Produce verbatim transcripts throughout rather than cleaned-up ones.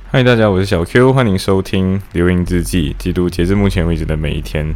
嗨，大家，我是小 Q，欢迎收听流萤日记，记录截至目前为止的每一天。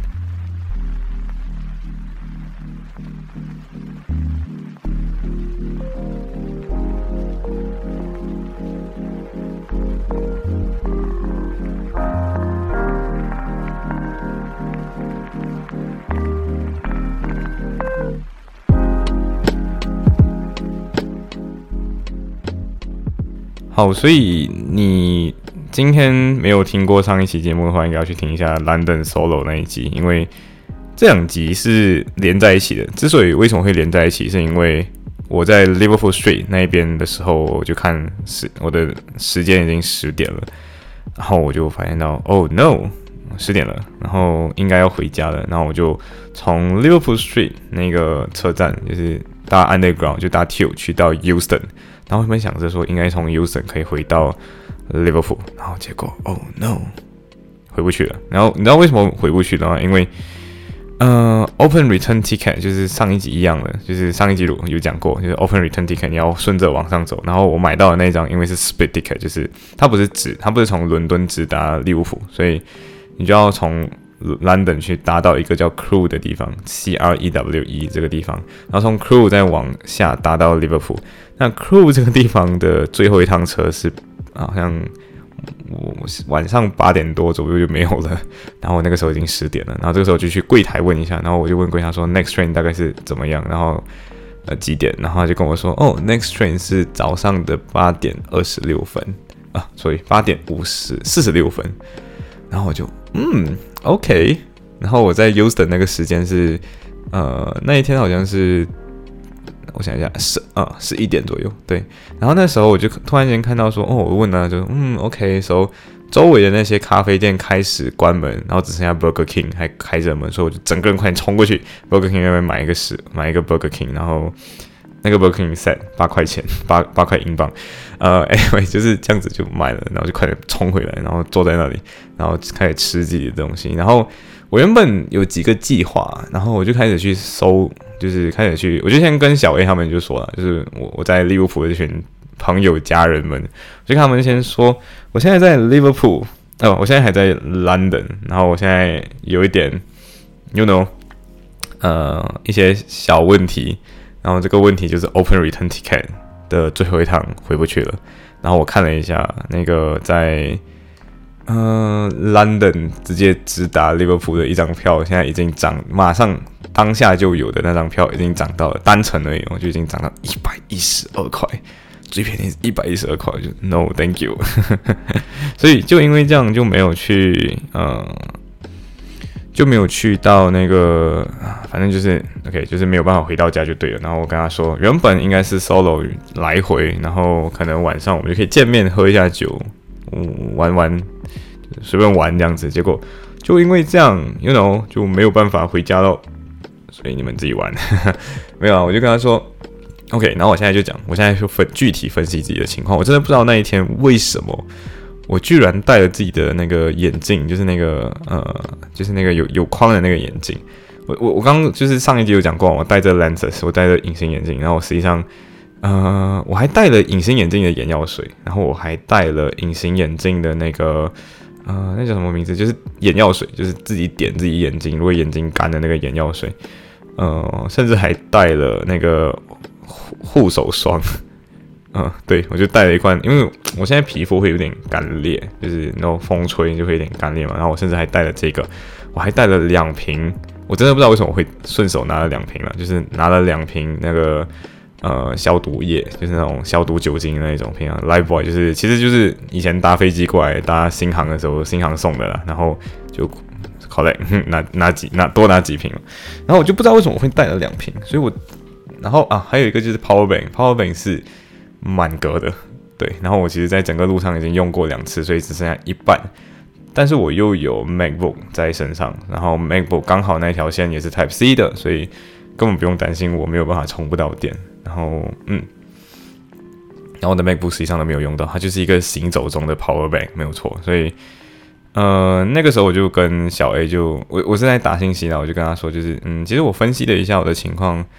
好，所以你今天没有听过上一期节目的话，应该要去听一下 London Solo 那一集，因为这两集是连在一起的。之所以为什么会连在一起，是因为我在 Liverpool Street 那一边的时候，我就看时我的时间已经十点了，然后我就发现到，Oh no， 十点了，然后应该要回家了，然后我就从 Liverpool Street 那个车站，就是搭 Underground 就搭 Tube 去到 Euston。然后原本想着说应该从 Euston 可以回到 Liverpool， 然后结果 Oh no， 回不去了。然后你知道为什么回不去了吗？因为呃 Open Return Ticket 就是上一集一样的，就是上一集有讲过，就是 Open Return Ticket 你要顺着往上走。然后我买到的那一张因为是 Split Ticket， 就是它不是直，它不是从伦敦直达利物浦，所以你就要从London 去搭到一个叫 Crewe 的地方 ，C R E W E 这个地方，然后从 Crewe 再往下搭到 Liverpool。那 Crewe 这个地方的最后一趟车是好像我晚上八点多左右就没有了，然后我那个时候已经十点了，然后这个时候就去柜台问一下，然后我就问柜台说 Next train 大概是怎么样，然后呃几点，然后他就跟我说哦 Next train 是早上的八点二十六分啊，所以八点五十四十六分，然后我就嗯。OK， 然后我在 Euston 那个时间是，呃，那一天好像是，我想一下，十啊十一点左右，对。然后那时候我就突然间看到说，哦，我问他就嗯 OK， 所、so, 以周围的那些咖啡店开始关门，然后只剩下 Burger King 还开着门，所以我就整个人快点冲过去 Burger King 那边买一个食买一个 Burger King， 然后那个 Burger King set 八块钱，八八块英镑。呃 ，anyway 就是这样子就买了，然后就快点冲回来，然后坐在那里，然后开始吃自己的东西。然后我原本有几个计划，然后我就开始去搜，就是开始去，我就先跟小 A 他们就说了，就是我我在利物浦的这群朋友家人们，我就跟他们先说，我现在在利物浦，哦，我现在还在 London， 然后我现在有一点 ，you know， 呃，一些小问题，然后这个问题就是 Open Return Ticket。的最后一趟回不去了，然后我看了一下那个在呃 London 直接直达利物浦的一张票，现在已经涨，马上当下就有的那张票已经涨到了单程而已，我就已经涨到一百一十二块，最便宜是一百一十二块，就 No Thank you， 所以就因为这样就没有去呃。就没有去到那个，反正就是 OK， 就是没有办法回到家就对了。然后我跟他说，原本应该是 solo 来回，然后可能晚上我们就可以见面喝一下酒，嗯、玩玩，随便玩这样子。结果就因为这样 ，you know， 就没有办法回家咯，所以你们自己玩。没有啊，我就跟他说 OK， 然后我现在就讲，我现在就分具体分析自己的情况。我真的不知道那一天为什么。我居然戴了自己的那个眼镜，就是那个呃，就是那个有有框的那个眼镜。我我我刚刚就是上一集有讲过，我戴着 lenses， 我戴着隐形眼镜，然后我实际上呃，我还带了隐形眼镜的眼药水，然后我还带了隐形眼镜的那个呃，那叫什么名字？就是眼药水，就是自己点自己眼睛，如果眼睛干的那个眼药水。呃，甚至还带了那个护手霜。嗯，对，我就带了一罐，因为我现在皮肤会有点干裂，就是那种风吹就会有点干裂嘛。然后我甚至还带了这个，我还带了两瓶，我真的不知道为什么我会顺手拿了两瓶了，就是拿了两瓶那个呃消毒液，就是那种消毒酒精的那种瓶啊 ，Lifebuoy 就是其实就是以前搭飞机过来搭新航的时候，新航送的啦，然后就 collect 拿拿几拿多拿几瓶，然后我就不知道为什么我会带了两瓶，所以我然后啊还有一个就是 Power Bank，Power Bank 是。满格的，对，然后我其实在整个路上已经用过两次，所以只剩下一半。但是我又有 MacBook 在身上，然后 MacBook 刚好那条线也是 Type C 的，所以根本不用担心我没有办法充不到电。然后，嗯，然后我的 MacBook 实际上都没有用到，它就是一个行走中的 Power Bank， 没有错。所以，呃，那个时候我就跟小 A 就我我是在打信息啦，我就跟他说，就是嗯，其实我分析了一下我的情况。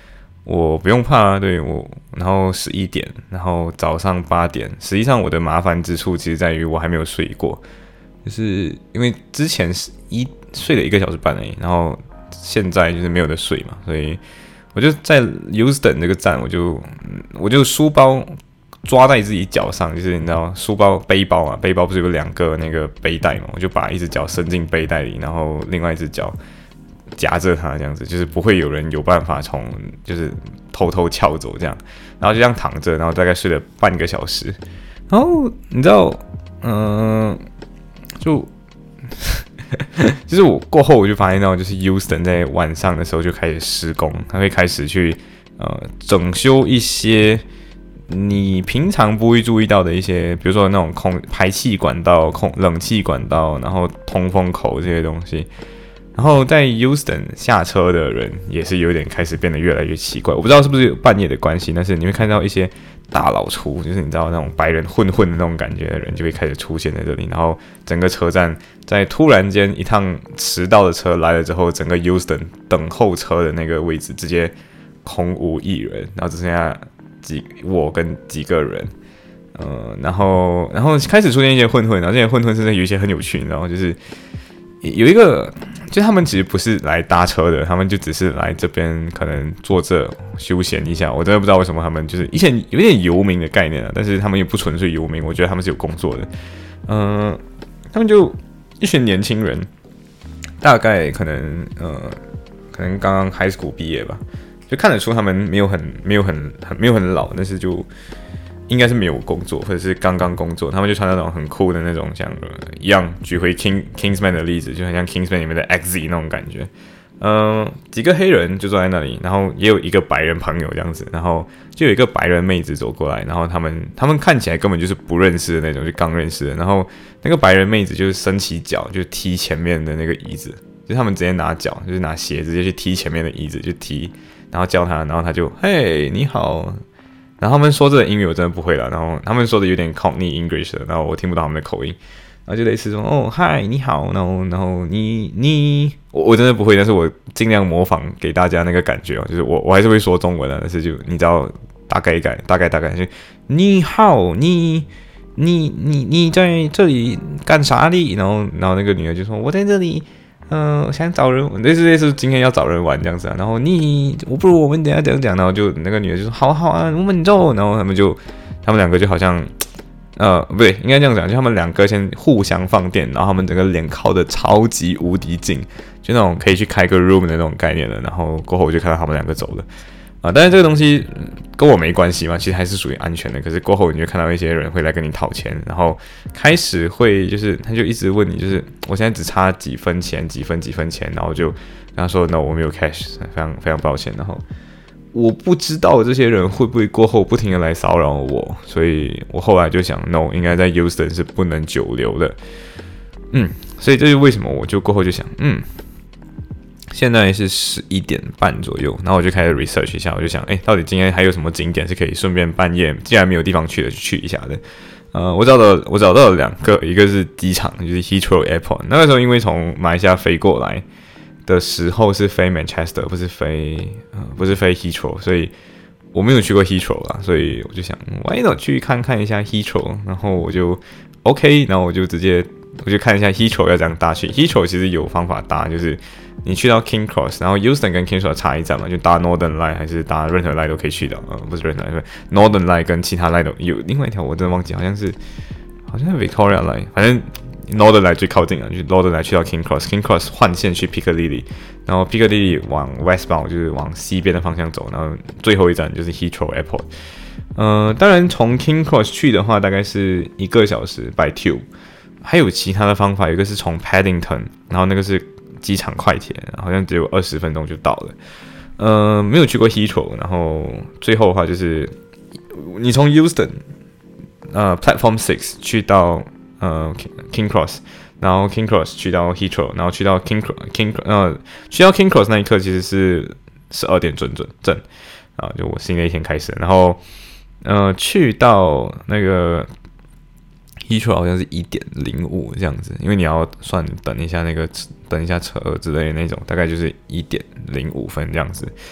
我不用怕，对我，然后十一点，然后早上八点，实际上我的麻烦之处其实在于我还没有睡过，就是因为之前是一睡了一个小时半而已，然后现在就是没有得睡嘛，所以我就在 Houston 这个站，我就我就书包抓在自己脚上，就是你知道书包背包啊，背包不是有两个那个背带嘛，我就把一只脚伸进背带里，然后另外一只脚夹着它，这样子就是不会有人有办法从就是偷偷撬走这样，然后就这样躺着，然后大概睡了半个小时，然后你知道，嗯、呃，就就是我过后我就发现到，就是 Houston 在晚上的时候就开始施工，它会开始去呃整修一些你平常不会注意到的一些，比如说那种空排气管道、空冷气管道，然后通风口这些东西。然后在 Houston 下车的人也是有点开始变得越来越奇怪，我不知道是不是有半夜的关系，但是你会看到一些大老粗，就是你知道那种白人混混的那种感觉的人就会开始出现在这里，然后整个车站在突然间一趟迟到的车来了之后，整个 Houston 等候车的那个位置直接空无一人，然后只剩下几我跟几个人。呃，然后然后开始出现一些混混，然后这些混混甚至有一些很有趣，然后就是有一个。就他们其实不是来搭车的，他们就只是来这边可能坐这休闲一下。我真的不知道为什么他们就是以前有点游民的概念啊，但是他们也不纯粹游民，我觉得他们是有工作的。嗯、呃，他们就一群年轻人，大概可能呃，可能刚刚 high school 毕业吧，就看得出他们没有很没有很很没有很老，但是就。应该是没有工作，或者是刚刚工作，他们就穿那种很酷的那种，像一样举回 King Kingsman 的例子，就很像 Kingsman 里面的 X Z 那种感觉。嗯、呃，几个黑人就坐在那里，然后也有一个白人朋友这样子，然后就有一个白人妹子走过来，然后他们他们看起来根本就是不认识的那种，就刚认识的。然后那个白人妹子就是伸起脚就踢前面的那个椅子，就是他们直接拿脚就是拿鞋直接去踢前面的椅子，就踢，然后叫他，然后他就嘿你好。然后他们说这个英语我真的不会了，然后他们说的有点 Cockney English 的，然后我听不到他们的口音，然后就类似说哦嗨你好，然后然后你你我我真的不会，但是我尽量模仿给大家那个感觉哦，就是我我还是会说中文的，但是就你知道大概改大概大概就你好你你你你在这里干啥的？然后然后那个女的就说我在这里。嗯、呃，想找人，类似类似今天要找人玩这样子啊，然后你，我不如我们等一下这样讲，然后就那个女的就说好好啊，我们走，然后他们就，他们两个就好像，呃，不对，应该这样讲，就他们两个先互相放电，然后他们整个脸靠得超级无敌近，就那种可以去开个 room 的那种概念了，然后过后我就看到他们两个走了。啊，但是这个东西跟我没关系嘛，其实还是属于安全的。可是过后你就看到一些人会来跟你讨钱，然后开始会就是他就一直问你，就是我现在只差几分钱，几分几分钱，然后就跟他说 no 我没有 cash， 非常非常抱歉。然后我不知道这些人会不会过后不停的来骚扰我，所以我后来就想 no 应该在 Houston 是不能久留的。嗯，所以这是为什么我就过后就想嗯。现在是十一点半左右，然后我就开始 research 一下，我就想，哎，到底今天还有什么景点是可以顺便半夜，既然没有地方去了，就去一下的。呃，我找到我找到了两个，一个是机场，就是 Heathrow Airport。那个时候因为从马来西亚飞过来的时候是飞 Manchester， 不是飞呃不是飞 Heathrow， 所以我没有去过 Heathrow 啦，所以我就想 ，why not 去看看一下 Heathrow， 然后我就 OK， 然后我就直接我就看一下 Heathrow 要怎样搭去。Heathrow 其实有方法搭，就是你去到 King Cross， 然后 Houston 跟 King Cross 差一站嘛，就搭 Northern Line 还是搭任何 line 都可以去的，呃，不是任何 line，Northern Line 跟其他 line 都有另外一条我真的忘记，好像是好像是 Victoria Line， 反正 Northern Line 最靠近了，就 Northern Line 去到 King Cross，King Cross 换线去 Piccadilly， 然后 Piccadilly 往 westbound 就是往西边的方向走，然后最后一站就是 Heathrow Airport。呃，当然从 King Cross 去的话大概是一个小时 by tube， 还有其他的方法，有一个是从 Paddington， 然后那个是机场快铁，好像只有二十分钟就到了。呃，没有去过 Heathrow， 然后最后的话就是你从 Houston 呃 Platform Six 去到呃 King Cross， 然后 King Cross 去到 Heathrow， 然后去到 King King 呃去到 King Cross 那一刻其实是十二点准准正啊，就我新的一天开始，然后呃去到那个。Heathrow 好像是一点零五这样子，因为你要算等一下那个等一下车之类的那种，大概就是一点零五分这样子。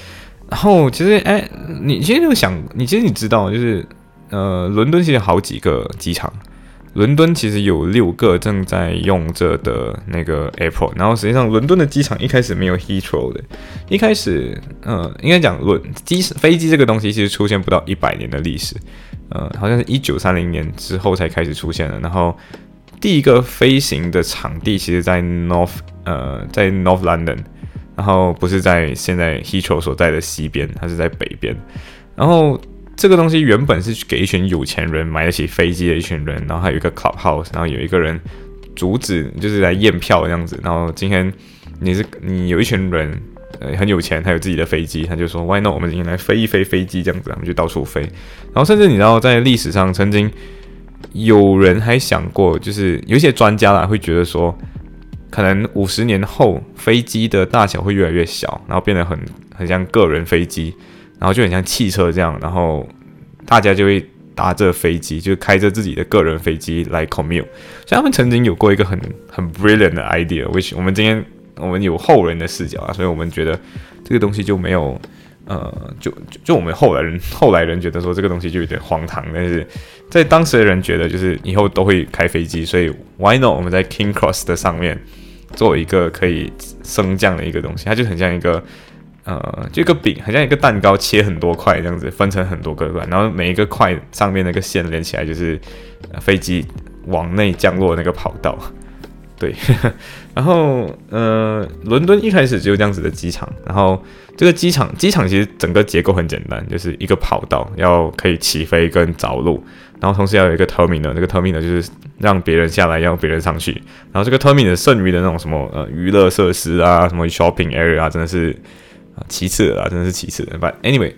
然后其实哎，你其实就想，你其实你知道，就是呃，伦敦其实有好几个机场。伦敦其实有六个正在用着的那个 airport， 然后实际上伦敦的机场一开始没有 Heathrow 的，一开始呃应该讲伦机飞机这个东西其实出现不到一百年的历史，呃好像是一九三零年之后才开始出现的，然后第一个飞行的场地其实在 North 呃在 North London， 然后不是在现在 Heathrow 所在的西边，它是在北边，然后这个东西原本是给一群有钱人买得起飞机的一群人，然后还有一个 clubhouse， 然后有一个人阻止，就是来验票这样子。然后今天你是你有一群人，呃，很有钱，还有自己的飞机，他就说 Why not？ 我们今天来飞一飞飞机这样子，他们就到处飞。然后甚至你知道，在历史上曾经有人还想过，就是有一些专家啦会觉得说，可能五十年后飞机的大小会越来越小，然后变得很很像个人飞机。然后就很像汽车这样，然后大家就会搭着飞机，就开着自己的个人飞机来 commute。所以他们曾经有过一个很很 brilliant 的 idea，which 我们今天我们有后人的视角啊，所以我们觉得这个东西就没有呃，就就就我们后来人后来人觉得说这个东西就有点荒唐，但是在当时的人觉得就是以后都会开飞机，所以 why not 我们在 King Cross 的上面做一个可以升降的一个东西，它就很像一个。呃，就一个饼，很像一个蛋糕，切很多块这样子，分成很多个块，然后每一个块上面那个线连起来，就是、呃、飞机往内降落的那个跑道。对，然后呃，伦敦一开始只有这样子的机场，然后这个机场机场其实整个结构很简单，就是一个跑道要可以起飞跟着陆，然后同时要有一个 terminal， 这个 terminal 就是让别人下来，让别人上去，然后这个 terminal 剩余的那种什么呃娱乐设施啊，什么 shopping area 啊，真的是。其次的啦，真的是其次的。But anyway，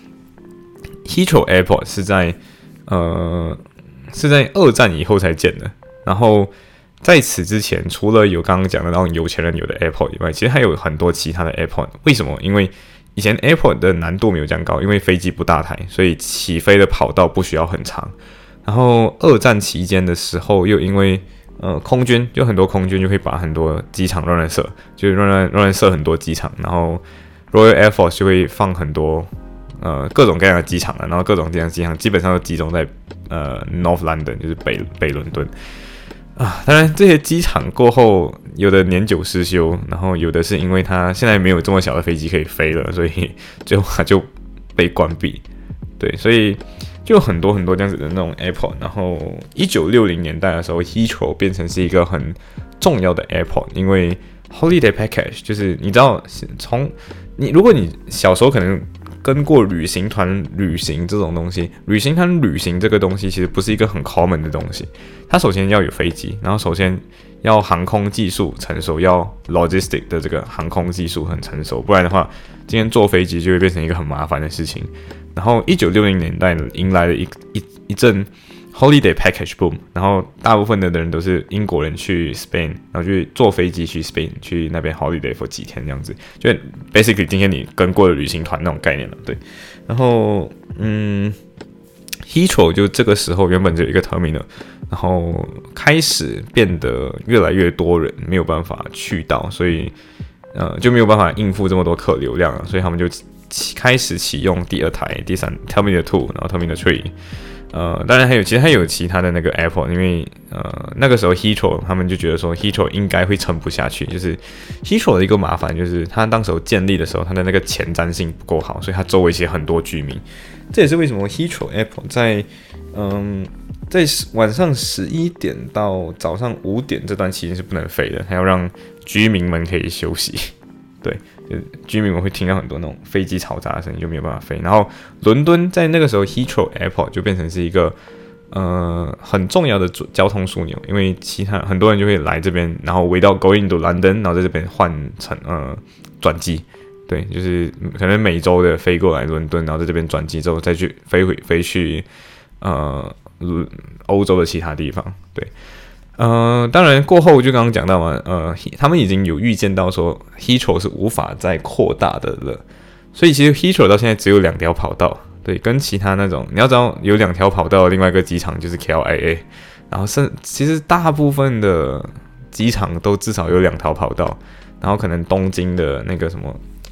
Heathrow Airport 是在呃是在二战以后才建的。然后在此之前，除了有刚刚讲的那种有钱人有的 airport 以外，其实还有很多其他的 airport。为什么？因为以前 airport 的难度没有这样高，因为飞机不大台，所以起飞的跑道不需要很长。然后二战期间的时候，又因为呃，空军就很多空军就会把很多机场乱乱设，就是乱乱乱设很多机场，然后 Royal Air Force 就会放很多呃各种各样的机场了，然后各种各样的机场基本上都集中在呃 North London， 就是北北伦敦啊。当然这些机场过后有的年久失修，然后有的是因为它现在没有这么小的飞机可以飞了，所以最后它就被关闭。对，所以就有很多很多这样子的那种 airport。然后一九六零年代的时候 ，Heathrow 变成是一个很重要的 airport， 因为 holiday package 就是你知道从你如果你小时候可能跟过旅行团旅行这种东西，旅行团旅行这个东西其实不是一个很 common 的东西。它首先要有飞机，然后首先要航空技术成熟，要 logistic 的这个航空技术很成熟，不然的话，今天坐飞机就会变成一个很麻烦的事情。然后一九六零年代迎来了一一一阵 holiday package boom， 然后大部分的人都是英国人去 Spain， 然后去坐飞机去 Spain， 去那边 holiday for 几天这样子，就 basically 今天你跟过的旅行团那种概念了，对。然后嗯 ，Heathrow 就这个时候原本只有一个 terminal， 然后开始变得越来越多人没有办法去到，所以呃就没有办法应付这么多客流量了，所以他们就开始启用第二台、第三 Terminal Two， 然后 Terminal Three， 呃，当然还有其实还有其他的那个 airport， 因为呃那个时候 Heathrow 他们就觉得说 Heathrow 应该会撑不下去，就是 Heathrow 的一个麻烦就是它当时候建立的时候，它的那个前瞻性不够好，所以它周围其实很多居民，这也是为什么 Heathrow Airport 在嗯在晚上十一点到早上五点这段期间是不能飞的，还要让居民们可以休息，对。就居民们会听到很多那种飞机嘈杂的声音，就没有办法飞。然后伦敦在那个时候 Heathrow Airport 就变成是一个呃很重要的交通枢纽，因为其他很多人就会来这边，然后 without going to London， 然后在这边换成呃转机，对，就是可能每周的飞过来伦敦，然后在这边转机之后再去飞回飞去呃欧洲的其他地方，对。呃，当然过后就刚刚讲到嘛，呃，他们已经有预见到说 Heathrow 是无法再扩大的了，所以其实 Heathrow 到现在只有两条跑道，对，跟其他那种你要知道有两条跑道的另外一个机场就是 K L I A， 然后是其实大部分的机场都至少有两条跑道，然后可能东京的那个什么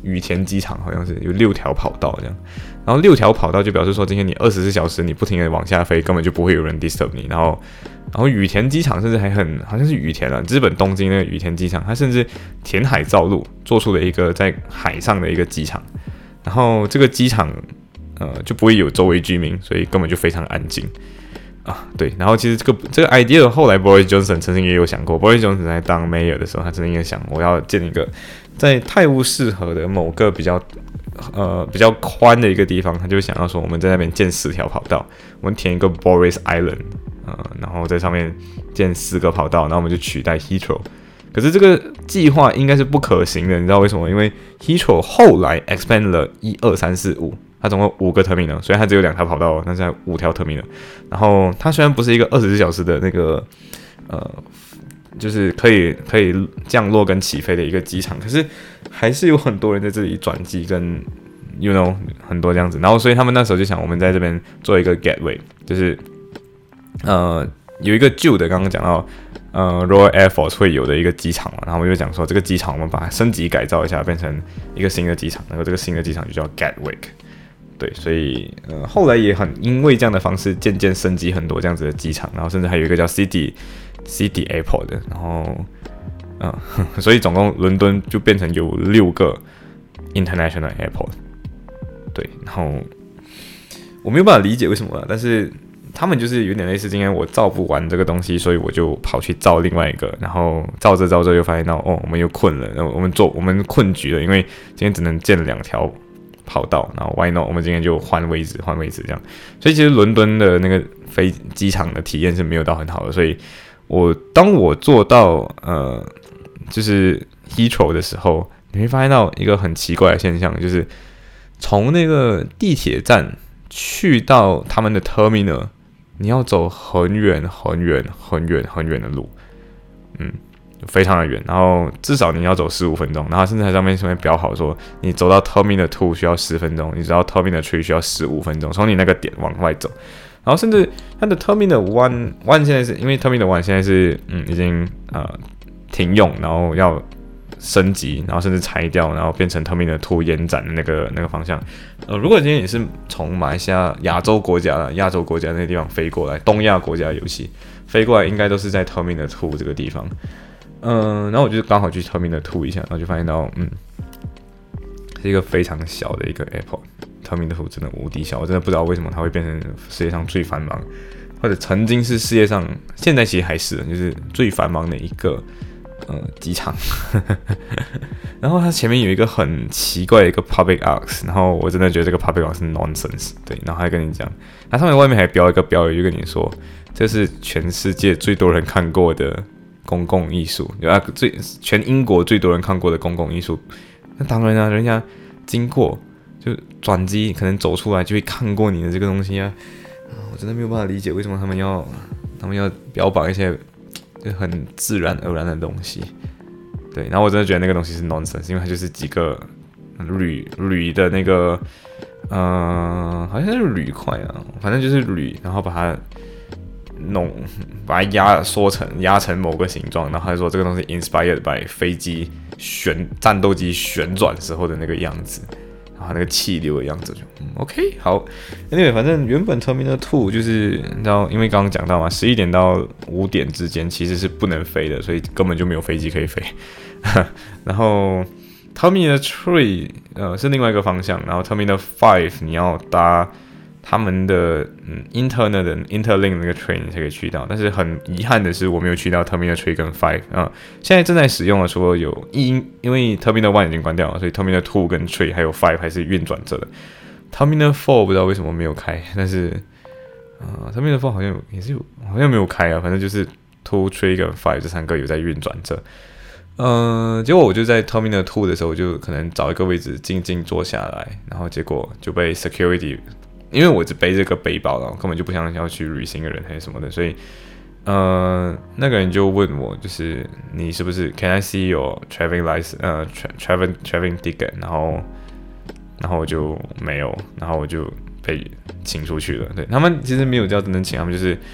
羽田机场好像是有六条跑道这样，然后六条跑道就表示说今天你二十四小时你不停的往下飞，根本就不会有人 disturb 你。然后，然后羽田机场甚至还很好像是羽田啊，日本东京那个羽田机场，它甚至填海造陆做出了一个在海上的一个机场，然后这个机场呃就不会有周围居民，所以根本就非常安静。啊，对，然后其实这个这个 idea 后来 Boris Johnson 曾经也有想过 ，Boris Johnson 在当 mayor 的时候，他曾经也想，我要建一个在泰晤士河的某个比较呃比较宽的一个地方，他就想要说，我们在那边建四条跑道，我们填一个 Boris Island， 呃，然后在上面建四个跑道，然后我们就取代 Heathrow。可是这个计划应该是不可行的，你知道为什么？因为 Heathrow 后来 expand 了一二三四五。它总共五个 terminal， 所以它只有两条跑道，但是还有五条 terminal。然后它虽然不是一个二十四小时的那个呃，就是可以可以降落跟起飞的一个机场，可是还是有很多人在这里转机跟 you know 很多这样子。然后所以他们那时候就想，我们在这边做一个 gateway， 就是呃有一个旧的刚刚讲到呃 Royal Air Force 会有的一个机场嘛，然后我们就讲说这个机场我们把它升级改造一下，变成一个新的机场，然后这个新的机场就叫 Gatwick。对，所以呃后来也很因为这样的方式渐渐升级很多这样子的机场，然后甚至还有一个叫 City City Airport 的，然后嗯、呃，所以总共伦敦就变成有六个 International Airport。对，然后我没有办法理解为什么，但是他们就是有点类似，今天我造不完这个东西，所以我就跑去造另外一个，然后造着造着又发现到哦，我们又困了，然后我们做我们困局了，因为今天只能建两条跑道，然后 why not？ 我们今天就换位置，换位置这样。所以其实伦敦的那个飞机场的体验是没有到很好的。所以我当我做到呃，就是 Heathrow 的时候，你会发现到一个很奇怪的现象，就是从那个地铁站去到他们的 terminal， 你要走很远很远很远很远的路，嗯。非常的远，然后至少你要走十五分钟，然后甚至在上面上面标好说，你走到 Terminal 二需要十分钟，你走到 Terminal 三需要十五分钟，从你那个点往外走，然后甚至它的 Terminal 一 现在是因为 Terminal 一现在是嗯已经呃停用，然后要升级，然后甚至拆掉，然后变成 Terminal 二延展的那个那个方向。呃，如果今天你是从马来西亚亚洲国家、亚洲国家那个地方飞过来，东亚国家尤其飞过来，应该都是在 Terminal 二这个地方。嗯，然后我就刚好去 Terminal 二一下，然后就发现到，嗯，是一个非常小的一个 airport。Terminal 二真的无敌小，我真的不知道为什么它会变成世界上最繁忙，或者曾经是世界上，现在其实还是，就是最繁忙的一个呃机场。然后它前面有一个很奇怪的一个 public arch， 然后我真的觉得这个 public arch 是 nonsense。对，然后还跟你讲，它上面外面还标一个标语，就跟你说，这是全世界最多人看过的公共艺术，啊，最全英国最多人看过的公共艺术。那当然啊，人家经过就转机，可能走出来就会看过你的这个东西啊。啊我真的没有办法理解为什么他们要他们要标榜一些就很自然而然的东西。对，然后我真的觉得那个东西是 nonsense， 因为它就是几个铝铝的那个呃，好像是铝块啊，反正就是铝，然后把它弄把它压缩成压成某个形状，然后他说这个东西 inspired by 飞机旋战斗机旋转时候的那个样子，然后那个气流的样子就、嗯、OK 好 ，anyway 反正原本 Terminal 二就是你知道，因为刚刚讲到嘛，十一点到五点之间其实是不能飞的，所以根本就没有飞机可以飞。然后 Terminal 三呃是另外一个方向，然后 Terminal 五你要搭他们的嗯 internal 的 interlink 那个 train 才可以去到，但是很遗憾的是我没有去到 Terminal 三跟五啊、嗯。现在正在使用的除了有因因为 Terminal 一已经关掉了，所以 Terminal 二跟三还有五还是运转着的。Terminal 四不知道为什么没有开，但是呃 Terminal 四好像有也是有好像没有开啊，反正就是二、三跟五这三个有在运转着。嗯、呃，结果我就在 Terminal 二的时候，我就可能找一个位置静静坐下来，然后结果就被 security。因为我只背这个背包了，根本就不像要去旅行的人还是什么的，所以，呃，那个人就问我，就是你是不是 Can I see your traveling license？ 呃 ，traveling traveling ticket？ 然后，然后我就没有，然后我就被请出去了。对，他们其实没有叫真正请，他们就是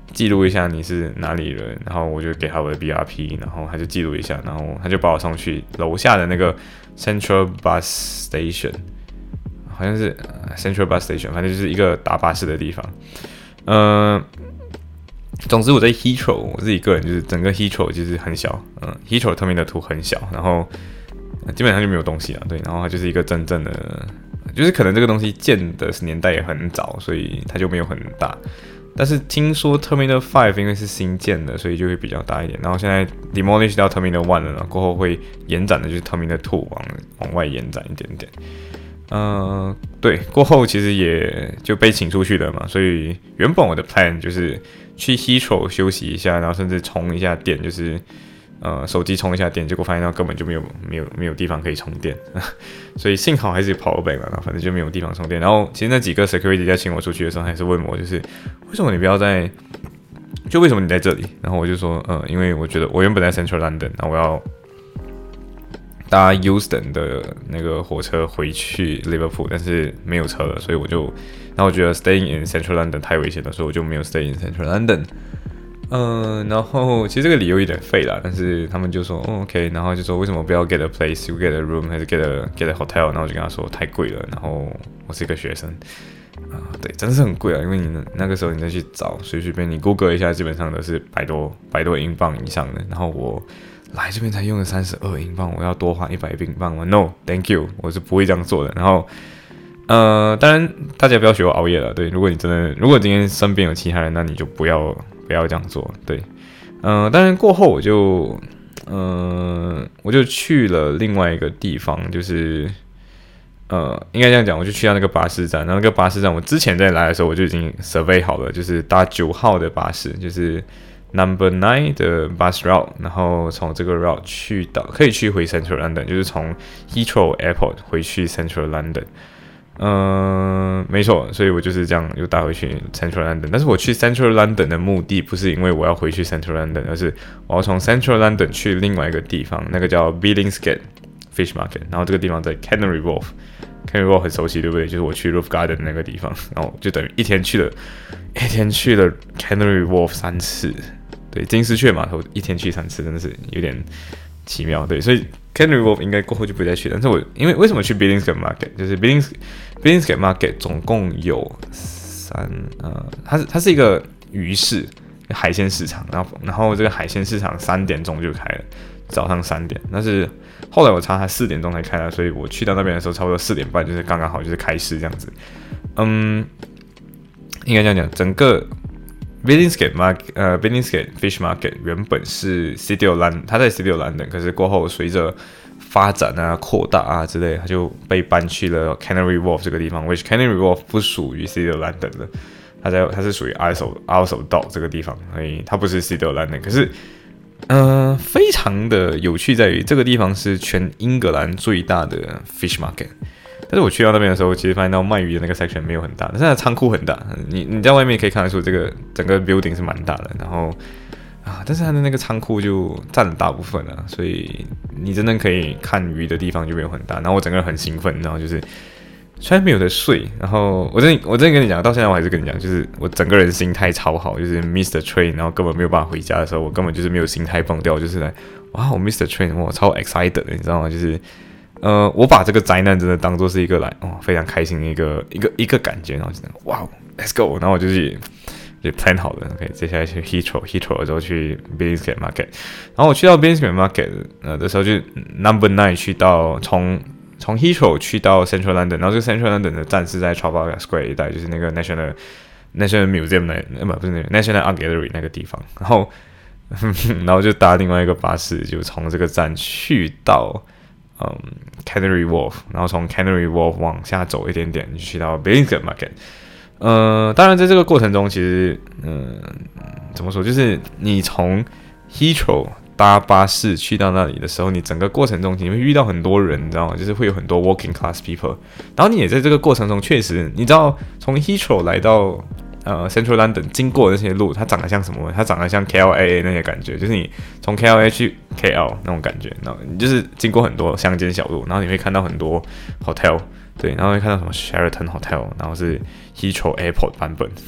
记录一下你是哪里人，然后我就给他我的 B R P， 然后他就记录一下，然后他就把我送去楼下的那个 Central Bus Station， 好像是 Central Bus Station， 反正就是一个搭巴士的地方。嗯、呃，总之我在 Heathrow， 我自己个人就是整个 Heathrow 就是很小，嗯 ，Heathrow Terminal two很小，然后基本上就没有东西了，对，然后它就是一个真正的，就是可能这个东西建的年代也很早，所以它就没有很大。但是听说 Terminal five 因为是新建的，所以就会比较大一点。然后现在 demolish 到 Terminal one 了，然后过后会延展的就是 Terminal two 往往外延展一点点。呃，对，过后其实也就被请出去了嘛，所以原本我的 plan 就是去 Heathrow 休息一下，然后甚至充一下电，就是呃手机充一下电，结果发现到根本就没有没有没有地方可以充电，所以幸好还是 power bank 了，反正就没有地方充电。然后其实那几个 security 在请我出去的时候，还是问我就是为什么你不要在，就为什么你在这里？然后我就说，呃，因为我觉得我原本在 Central London， 然后我要搭 Euston 的那个火车回去 Liverpool， 但是没有车了，所以我就，然后我觉得 staying in Central London 太危险了，所以我就没有 stay in Central London。嗯，然后其实这个理由有点废啦，但是他们就说、哦、OK， 然后就说为什么不要 get a place， you get a room 还是 get a get a hotel， 然后我就跟他说太贵了，然后我是一个学生啊、呃，对，真的是很贵啊，因为你那个时候你再去找随随便你 Google 一下，基本上都是百多百多英镑以上的，然后我。来这边才用了三十二英镑，我要多花一百英镑吗 ？No， thank you， 我是不会这样做的。然后，呃，当然大家不要学我熬夜了。对，如果你真的，如果今天身边有其他人，那你就不要不要这样做。对，呃，当然过后我就，呃，我就去了另外一个地方，就是呃，应该这样讲，我就去到那个巴士站。然后那个巴士站，我之前在来的时候我就已经 survey 好了，就是搭九号的巴士，就是。Number nine 的 bus route， 然后从这个 route 去到可以去回 Central London， 就是从 Heathrow Airport 回去 Central London。嗯，没错，所以我就是这样又搭回去 Central London。但是我去 Central London 的目的不是因为我要回去 Central London， 而是我要从 Central London 去另外一个地方，那个叫 Billingsgate Fish Market， 然后这个地方在 Canary Wharf。Canary Wharf 很熟悉，对不对？就是我去 Roof Garden 那个地方，然后就等于一天去了，一天去了 Canary Wharf 三次。对，金丝雀码头一天去三次，真的是有点奇妙。对，所以 Canary Wharf 应该过后就不再去。但是我因为为什么去 Billingsgate Market， 就是 Billings Billingsgate Market 总共有三呃，它是它是一个鱼市海鲜市场，然后然后这个海鲜市场三点钟就开了，早上三点。但是后来我查它四点钟才开了，所以我去到那边的时候差不多四点半，就是刚刚好就是开市这样子。嗯，应该这样讲，整个。Billingsgate Market， 呃 ，Billingsgate Fish Market 原本是 City of London， 它在 City of London， 可是过后随着发展啊、扩大啊之类，它就被搬去了 Canary Wharf 这个地方 ，which Canary Wharf 不属于 City of London 的，它在它是属于 Isle of Isle of Dock 这个地方，所以它不是 City of London。可是，呃，非常的有趣在于这个地方是全英格兰最大的 Fish Market。但是我去到那边的时候，其实发现到卖鱼的那个 section 没有很大，但是它的仓库很大。你你在外面可以看得出，这个整个 building 是蛮大的。然后啊，但是它的那个仓库就占了大部分啊，所以你真的可以看鱼的地方就没有很大。然后我整个人很兴奋，然后就是虽然没有得睡，然后我真的我真的跟你讲，到现在我还是跟你讲，就是我整个人心态超好，就是 miss the train， 然后根本没有办法回家的时候，我根本就是没有心态崩掉，就是来哇，我 miss the train， 我超 excited 的，你知道吗？就是。呃，我把这个灾难真的当作是一个来哦非常开心的一个一个一个感觉，然后就哇 ，Let's go， 然后我就是也 plan 好了 ，OK， 接下来去 Heathrow Heathrow 之后去 Billingsgate Market， 然后我去到 Billingsgate Market 呃的时候就 Number nine 去到从从 Heathrow 去到 Central London， 然后这个 Central London 的站是在 Trafalgar Square 一带，就是那个 National National Museum 那呃不不是那个 National Art Gallery 那个地方，然后然后就搭另外一个巴士，就从这个站去到。嗯 ，Canary Wharf， 然后从 Canary Wharf 往下走一点点，就去到 Billingsgate Market。呃，当然在这个过程中，其实，嗯、呃，怎么说，就是你从 Heathrow 搭巴士去到那里的时候，你整个过程中你会遇到很多人，你知道吗？就是会有很多 working class people， 然后你也在这个过程中，确实，你知道从 Heathrow 来到。呃 ，Central London 经过的那些路，它长得像什么？它长得像 K L A 那些感觉，就是你从 K L A 去 K L 那种感觉，然后你就是经过很多乡间小路，然后你会看到很多 hotel， 对，然后会看到什么 Sheraton Hotel， 然后是 Heathrow Airport 版本，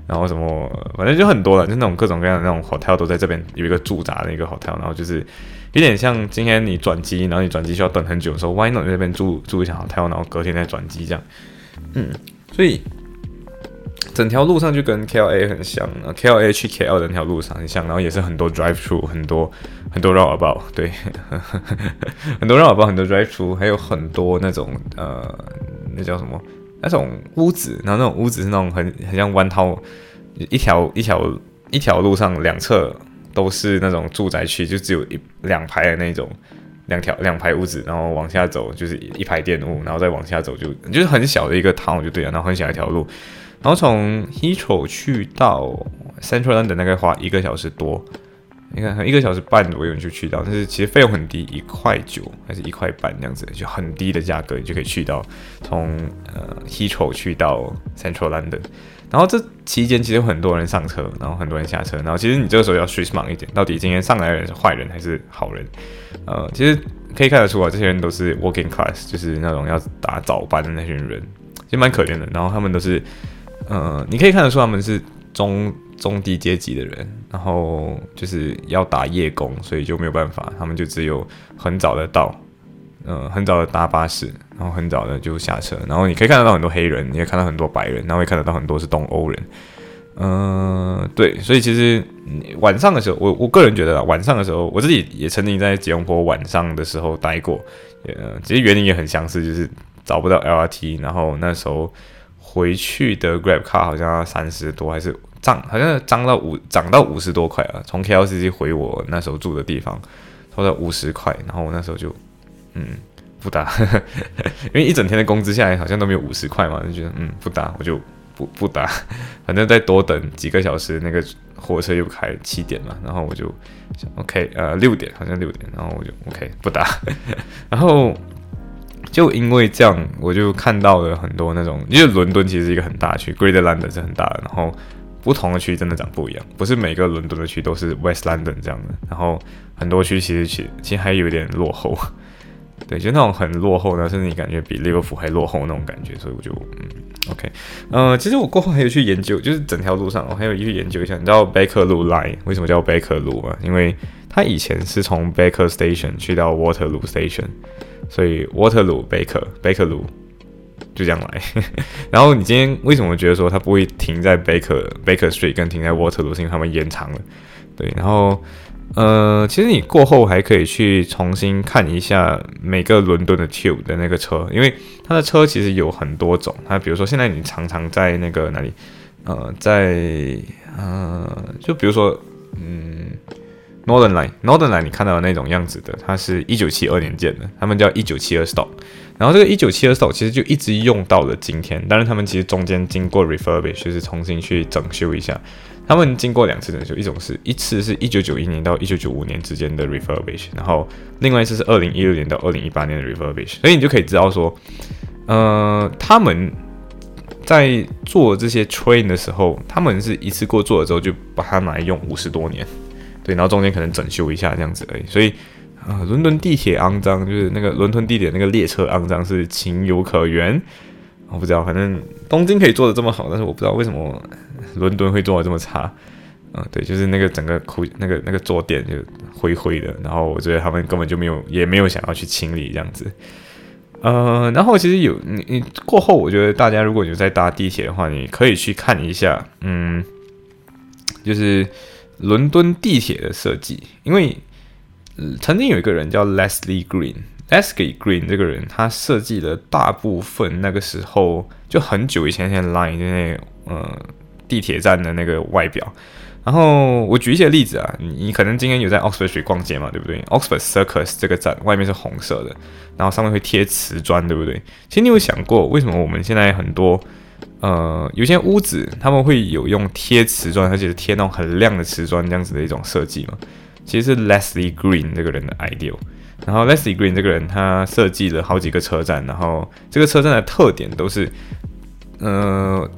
然后什么反正就很多了，就那种各种各样的那种 hotel 都在这边有一个驻扎的一个 hotel， 然后就是有点像今天你转机，然后你转机需要等很久的时候 ，Why not 在那边住住一下 hotel， 然后隔天再转机这样，嗯，所以整条路上就跟 K L A 很像 ，K L A 去 K L 的那条路上很像，然后也是很多 drive through， 很多很多 roundabout， 对，很多 roundabout， 很多 drive through， 还有很多那种呃，那叫什么？那种屋子，然后那种屋子是那种很很像弯套，一条一条一条路上两侧都是那种住宅区，就只有一两排的那种，两条两排屋子，然后往下走就是一排店屋，然后再往下走就就是很小的一个 town 就对了，然后很小一条路，然后从 Heathrow 去到 Central London 大概花一个小时多。你看，一个小时半左右你就去到，但是其实费用很低，一块九还是一块半这样子，就很低的价格，你就可以去到从呃 Heathrow 去到 Central London。然后这期间其实有很多人上车，然后很多人下车，然后其实你这个时候要 switch mind 一点，到底今天上来的人是坏人还是好人？呃，其实可以看得出啊，这些人都是 working class， 就是那种要打早班的那群人，其实蛮可怜的。然后他们都是呃，你可以看得出他们是中。中低阶级的人，然后就是要打夜工，所以就没有办法，他们就只有很早的到，呃，很早的搭巴士，然后很早的就下车，然后你可以看得到很多黑人，你也看到很多白人，然后也看得到很多是东欧人，嗯、呃，对，所以其实晚上的时候，我我个人觉得晚上的时候，我自己也曾经在吉隆坡晚上的时候待过，呃，其实原因也很相似，就是找不到 L R T， 然后那时候回去的 Grab car 好像要三十多还是。涨好像涨到五涨到五十多块啊！从 K L C C 回我那时候住的地方，差不多五十块，然后我那时候就嗯不搭，因为一整天的工资下来好像都没有五十块嘛，就觉得嗯不搭，我就不不搭，反正再多等几个小时，那个火车又开七点嘛，然后我就 OK 呃六点好像六点，然后我就 OK 不搭，然后。就因为这样，我就看到了很多那种，因为伦敦其实是一个很大的区 ，Greater London 是很大的，然后不同的区真的长不一样，不是每个伦敦的区都是 West London 这样的，然后很多区其实其其实还有点落后，对，就那种很落后呢，甚至你感觉比利物浦还落后那种感觉，所以我就嗯 OK， 呃，其实我过后还有去研究，就是整条路上我还有去研究一下，你知道 Baker 路 Line 为什么叫 Baker 路吗？因为它以前是从 Baker Station 去到 Waterloo Station。所以 Waterloo Baker Baker 路就这样来，然后你今天为什么觉得说它不会停在 Baker Baker Street 跟停在 Waterloo， 是因为他们延长了，对，然后呃，其实你过后还可以去重新看一下每个伦敦的 Tube 的那个车，因为它的车其实有很多种，它比如说现在你常常在那个哪里，呃，在呃，就比如说嗯。Northern Line，Northern Line 你看到的那种样子的，它是一九七二年建的，他们叫一九七二 stock。然后这个一九七二 stock 其实就一直用到了今天，当然他们其实中间经过 refurbish， 就是重新去整修一下。他们经过两次整修，一种是一次是一九九一年到一九九五年之间的 refurbish， 然后另外一次是二零一六年到二零一八年的 refurbish。所以你就可以知道说，呃，他们在做这些 train 的时候，他们是一次过做了之后就把它拿来用五十多年。对，然后中间可能整修一下这样子而已，所以，呃，伦敦地铁肮脏，就是那个伦敦地铁那个列车肮脏是情有可原。我不知道，反正东京可以做的这么好，但是我不知道为什么伦敦会做的这么差。嗯、呃，对，就是那个整个苦那个那个坐垫就灰灰的，然后我觉得他们根本就没有也没有想要去清理这样子。呃，然后其实有你你过后，我觉得大家如果有在搭地铁的话，你可以去看一下，嗯，就是。伦敦地铁的设计，因为、呃、曾经有一个人叫 Leslie Green，Leslie Green 这个人，他设计了大部分那个时候就很久以前那 line 的那个呃地铁站的那个外表。然后我举一些例子啊，你你可能今天有在 Oxford Street 逛街嘛，对不对 ？Oxford Circus 这个站外面是红色的，然后上面会贴瓷砖，对不对？其实你有想过，为什么我们现在很多呃，有些屋子他们会有用贴瓷砖，而且是贴那种很亮的瓷砖这样子的一种设计嘛？其实是 Leslie Green 这个人的 idea。然后 Leslie Green 这个人他设计了好几个车站，然后这个车站的特点都是，呃，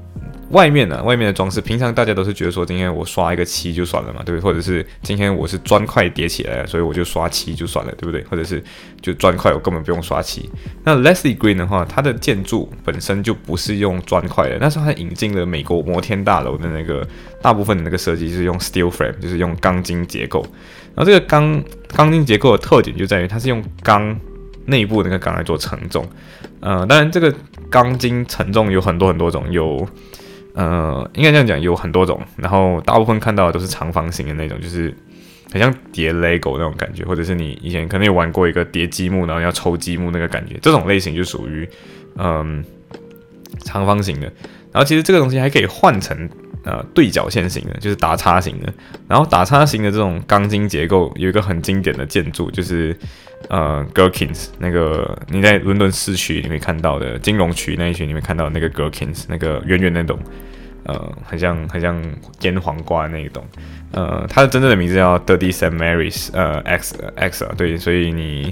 外面呢、啊，外面的装饰，平常大家都是觉得说，今天我刷一个漆就算了嘛，对不对？或者是今天我是砖块叠起来了，所以我就刷漆就算了，对不对？或者是就砖块我根本不用刷漆。那 Leslie Green 的话，它的建筑本身就不是用砖块的，那时候它引进了美国摩天大楼的那个大部分的那个设计是用 steel frame， 就是用钢筋结构。然后这个钢钢筋结构的特点就在于它是用钢内部的那个钢来做承重。呃，当然这个钢筋承重有很多很多种，有呃，应该这样讲，有很多种，然后大部分看到的都是长方形的那种，就是很像叠 Lego 那种感觉，或者是你以前可能有玩过一个叠积木，然后要抽积木那个感觉，这种类型就属于嗯长方形的。然后其实这个东西还可以换成呃对角线型的，就是打叉型的。然后打叉型的这种钢筋结构有一个很经典的建筑，就是呃 Gherkins 那个你在伦敦市区你会看到的金融区那一区你会看到那个 Gherkins 那个圆圆那种。呃，很像很像腌黄瓜那一种，呃，它的真正的名字叫 Dirty Saint Mary's， 呃 X X 啊，对，所以你，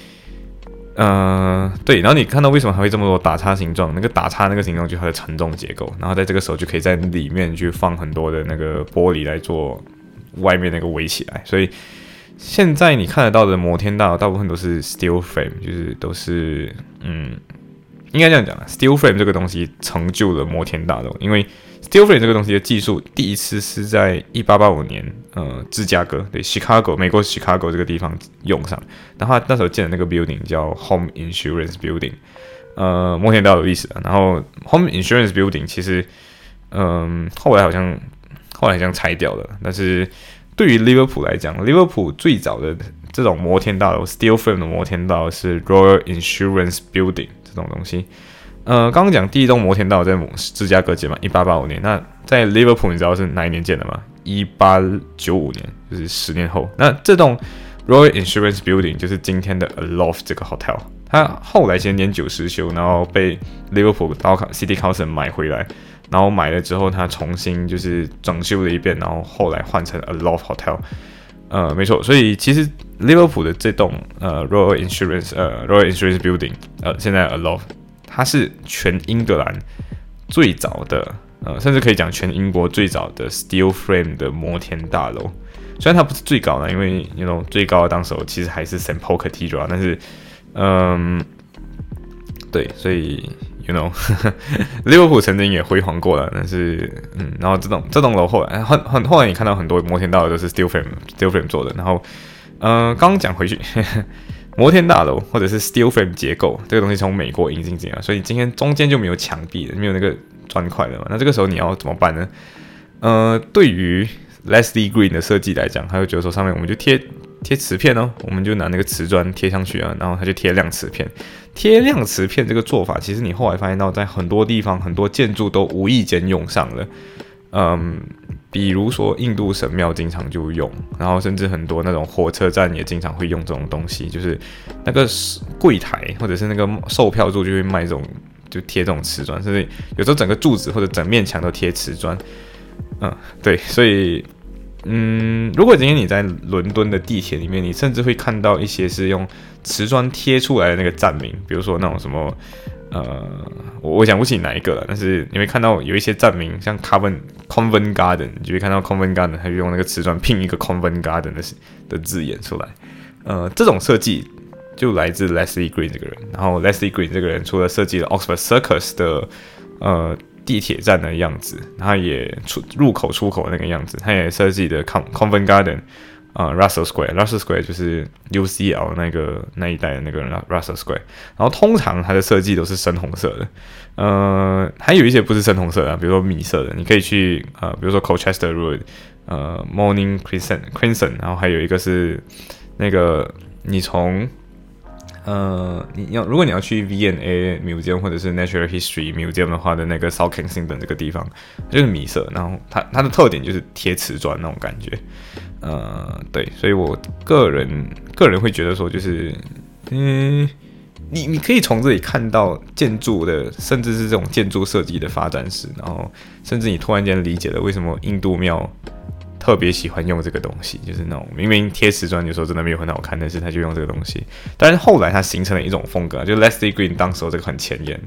呃，对，然后你看到为什么还会这么多打叉形状？那个打叉那个形状就是它的承重结构，然后在这个时候就可以在里面去放很多的那个玻璃来做外面那个围起来，所以现在你看得到的摩天大楼大部分都是 steel frame， 就是都是嗯。应该这样讲 ，steel frame 这个东西成就了摩天大楼，因为 steel frame 这个东西的技术第一次是在一八八五年，呃，芝加哥对 Chicago 美国 Chicago 这个地方用上，然后他那时候建的那个 building 叫 Home Insurance Building， 呃，摩天大楼的意思啊。然后 Home Insurance Building 其实，嗯、呃，后来好像后来好像拆掉了，但是对于利物浦来讲，利物浦最早的这种摩天大楼 steel frame 的摩天大楼是 Royal Insurance Building。这种东西，呃，刚刚讲第一栋摩天大楼在芝加哥建嘛，一八八五年。那在 Liverpool 你知道是哪一年建的吗？一八九五年，就是十年后。那这栋 Royal Insurance Building 就是今天的 Aloft 这个 hotel， 它后来其实年久失修，然后被 Liverpool City Council 买回来，然后买了之后，它重新就是整修了一遍，然后后来换成 Aloft Hotel。呃，没错，所以其实利物浦的这栋呃 Royal Insurance 呃 Royal Insurance Building 呃现在 Aloft， 它是全英格兰最早的呃，甚至可以讲全英国最早的 steel frame 的摩天大楼。虽然它不是最高的，因为 you know 最高的当时候其实还是 Saint Paul Cathedral， 但是嗯，对，所以 you know 利物浦曾经也辉煌过了，但是嗯，然后这栋这栋楼后来很很后来你看到很多摩天大楼都是 steel frame steel frame 做的，然后呃刚刚讲回去呵呵摩天大楼或者是 steel frame 结构这个东西从美国引进进来，所以今天中间就没有墙壁了，没有那个砖块了嘛，那这个时候你要怎么办呢？呃，对于 Leslie Green 的设计来讲，他就觉得说上面我们就贴贴瓷片哦，我们就拿那个瓷砖贴上去啊，然后他就贴亮瓷片。贴亮瓷片这个做法，其实你后来发现到，在很多地方、很多建筑都无意间用上了。嗯，比如说印度神庙经常就用，然后甚至很多那种火车站也经常会用这种东西，就是那个柜台或者是那个售票处就会卖这种，就贴这种瓷砖，甚至有时候整个柱子或者整面墙都贴瓷砖。嗯，对，所以。嗯，如果今天你在伦敦的地铁里面，你甚至会看到一些是用瓷砖贴出来的那个站名，比如说那种什么，呃，我我想不起哪一个了，但是你会看到有一些站名，像 Covent Covent Garden， 你就会看到 Covent Garden， 它就用那个瓷砖拼一个 Covent Garden 的的字眼出来。呃，这种设计就来自 Leslie Green 这个人，然后 Leslie Green 这个人除了设计了 Oxford Circus 的呃。地铁站的样子，他也出入口出口那个样子，他也设计的 Covent Garden， 啊、呃、，Russell Square，Russell Square 就是 U C L 那个那一带的那个 Russell Square， 然后通常它的设计都是深红色的，呃，还有一些不是深红色的，比如说米色的，你可以去呃，比如说 Colchester Road， 呃 ，Morning Crescent Crimson， 然后还有一个是那个你从呃，你要如果你要去 V and A Museum 或者是 Natural History Museum 的话的那个 South Kensington 这个地方就是米色，然后它它的特点就是贴瓷砖那种感觉，呃，对，所以我个人个人会觉得说就是，嗯，你你可以从这里看到建筑的，甚至是这种建筑设计的发展史，然后甚至你突然间理解了为什么印度庙特别喜欢用这个东西，就是那种明明贴瓷砖有时候真的没有很好看，但是他就用这个东西。但是后来他形成了一种风格，就 Leslie Green 当时候这个很前沿，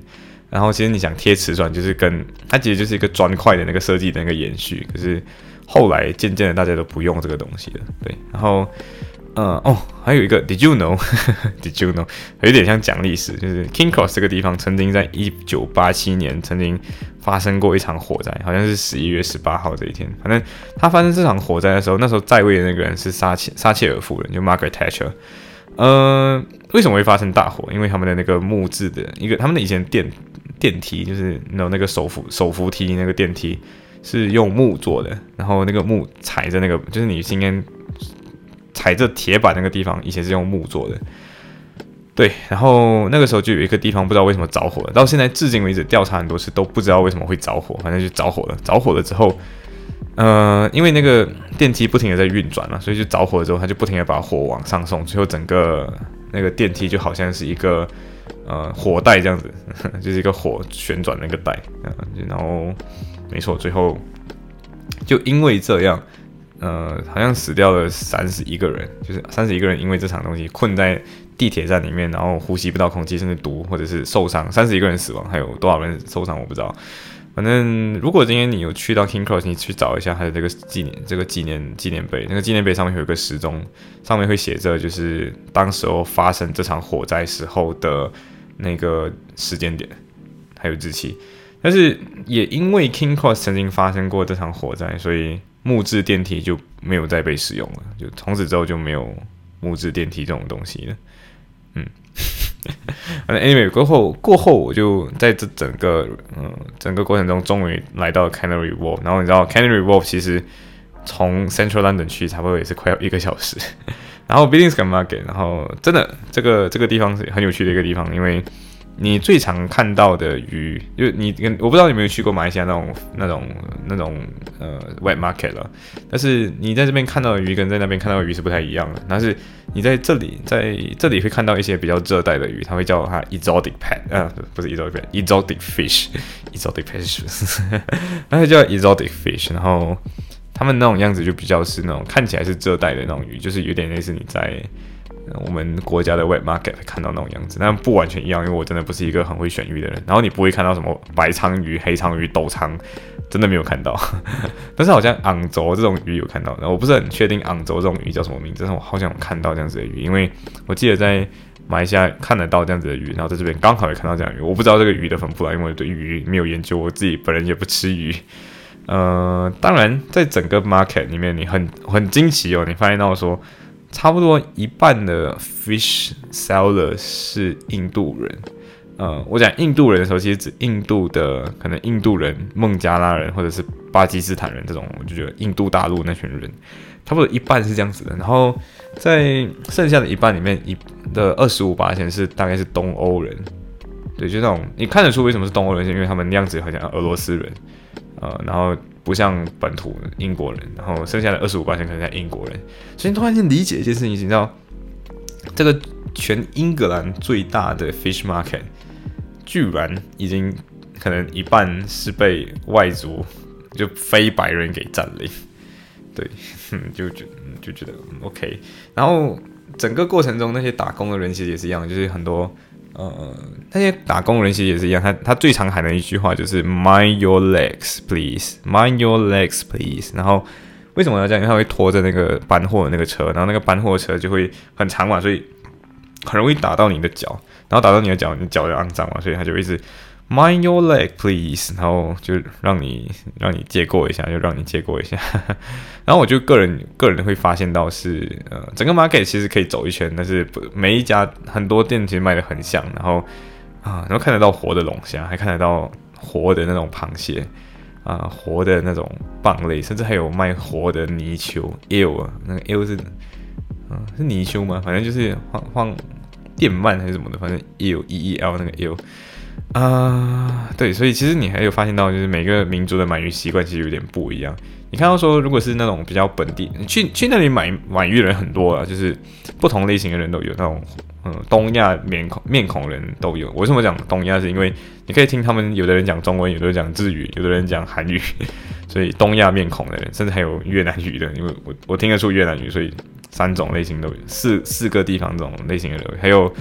然后其实你想贴瓷砖，就是跟它其实就是一个砖块的那个设计的那个延续。可是后来渐渐的大家都不用这个东西了，对。然后，呃，哦，还有一个 ，Did you know？Did you know？ 有点像讲历史，就是 King Cross 这个地方曾经在一九八七年曾经发生过一场火灾，好像是十一月十八号这一天。反正他发生这场火灾的时候，那时候在位的那个人是撒切撒切尔夫人，就 Margaret Thatcher。呃，为什么会发生大火？因为他们的那个木质的一个，他们的以前电电梯就是有那个手扶手扶梯那个电梯是用木做的，然后那个木踩着那个，就是你今天踩着铁板那个地方，以前是用木做的。对，然后那个时候就有一个地方不知道为什么着火了，到现在至今为止调查很多次都不知道为什么会着火，反正就着火了。着火了之后，呃，因为那个电梯不停的在运转嘛，所以就着火了之后，它就不停的把火往上送，最后整个那个电梯就好像是一个呃火带这样子，呵呵就是一个火旋转那个带，呃、然后没错，最后就因为这样，呃，好像死掉了三十一个人，就是三十一个人因为这场东西困在地铁站里面，然后呼吸不到空气，甚至毒或者是受伤，三十一个人死亡，还有多少人受伤我不知道。反正如果今天你有去到 King Cross， 你去找一下它的这个纪念这个纪念纪念碑，那个纪念碑上面有一个时钟，上面会写着就是当时候发生这场火灾时候的那个时间点，还有日期。但是也因为 King Cross 曾经发生过这场火灾，所以木质电梯就没有再被使用了，就从此之后就没有木质电梯这种东西了。嗯。anyway 过后过后我就在这整个嗯整个过程中终于来到 Canary Wharf， 然后你知道 Canary Wharf 其实从 Central London 去差不多也是快要一个小时，然后 Billingsgate Market， 然后真的这个这个地方是很有趣的一个地方，因为你最常看到的鱼，就你我不知道你有没有去过马来西亚那种那种那种呃 wet market 了，但是你在这边看到的鱼跟在那边看到的鱼是不太一样的。但是你在这里在这里会看到一些比较热带的鱼，它会叫它 exotic pet， 呃不是 exotic pet，exotic fish，exotic fish， 那叫 exotic fish， 然后他们那种样子就比较是那种看起来是热带的那种鱼，就是有点类似你在我们国家的 wet market 会看到那种样子，但不完全一样，因为我真的不是一个很会选鱼的人。然后你不会看到什么白鲳鱼、黑鲳鱼、斗鲳，真的没有看到。但是好像昂轴这种鱼有看到，然后我不是很确定昂轴这种鱼叫什么名字，但是我好想看到这样子的鱼，因为我记得在马来西亚看得到这样子的鱼，然后在这边刚好也看到这样的鱼。我不知道这个鱼的分布啦，因为我对鱼没有研究，我自己本人也不吃鱼。呃，当然在整个 market 里面，你很很惊奇哦，你发现到说，差不多一半的 fish seller 是印度人。呃，我讲印度人的时候，其实指印度的可能印度人、孟加拉人或者是巴基斯坦人这种，我就觉得印度大陆那群人，差不多一半是这样子的。然后在剩下的一半里面，一的二十五%是大概是东欧人，对，就那种你看得出为什么是东欧人，是因为他们样子好像俄罗斯人，呃，然后不像本土英国人，然后剩下的二十五%可能像英国人，所以你突然间理解一件事情，你知道这个全英格兰最大的 fish market， 居然已经可能一半是被外族就非白人给占领，对，就就就觉得 OK， 然后整个过程中那些打工的人其实也是一样，就是很多。呃，那些打工人其实也是一样，他他最常喊的一句话就是 "Mind your legs, please, mind your legs, please"。然后为什么要这样？因为他会拖着那个搬货的那个车，然后那个搬货的车就会很长嘛，所以很容易打到你的脚，然后打到你的脚，你脚就肮脏嘛，所以他就一直 "Mind your leg, please"， 然后就让你让你借过一下，就让你借过一下。然后我就个人个人会发现到是，呃，整个 market 其实可以走一圈，但是每一家很多店其实卖的很像，然后啊，然后看得到活的龙虾，还看得到活的那种螃蟹啊，活的那种蚌类，甚至还有卖活的泥鳅 eel 啊，那个 eel 是啊是泥鳅吗？反正就是放放电鳗还是什么的，反正 eel e e l 那个 eel。啊、uh ，对，所以其实你还有发现到，就是每个民族的买鱼习惯其实有点不一样。你看到说，如果是那种比较本地，去去那里买买鱼的人很多啊，就是不同类型的人都有，那种嗯东亚面孔面孔人都有。我为什么讲东亚？是因为你可以听他们有的人讲中文，有的人讲日语，有的人讲韩语，所以东亚面孔的人，甚至还有越南语的，因为我我听得出越南语，所以三种类型都有，四四个地方这种类型的人，还有。